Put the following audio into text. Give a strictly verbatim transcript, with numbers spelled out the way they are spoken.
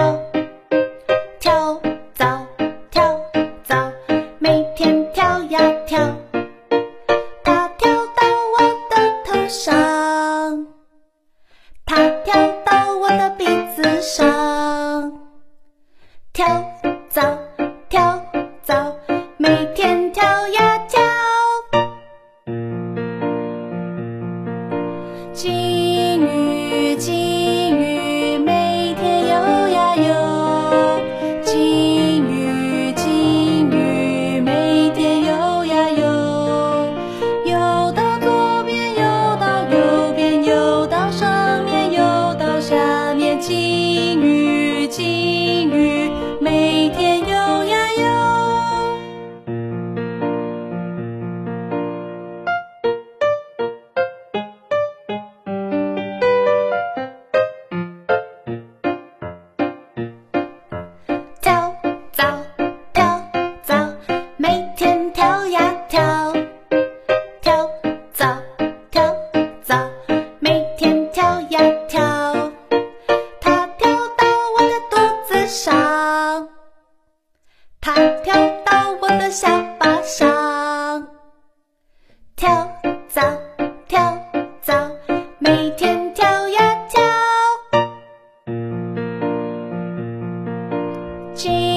跳，跳蚤跳蚤，每天跳呀跳，它跳到我的头上，它跳到我的鼻子上，跳蚤跳蚤，每天跳呀跳。金鱼金鱼每天游呀游，金鱼金鱼每天游呀游，游到左边游到右边，游到上面游到下面，金鱼金鱼每天游呀游。跳蚤跳蚤，每天跳呀跳，跳蚤跳蚤，每天跳呀跳，它跳到我的肚子上，它跳到我的下巴上，跳蚤跳蚤，每天跳呀跳。金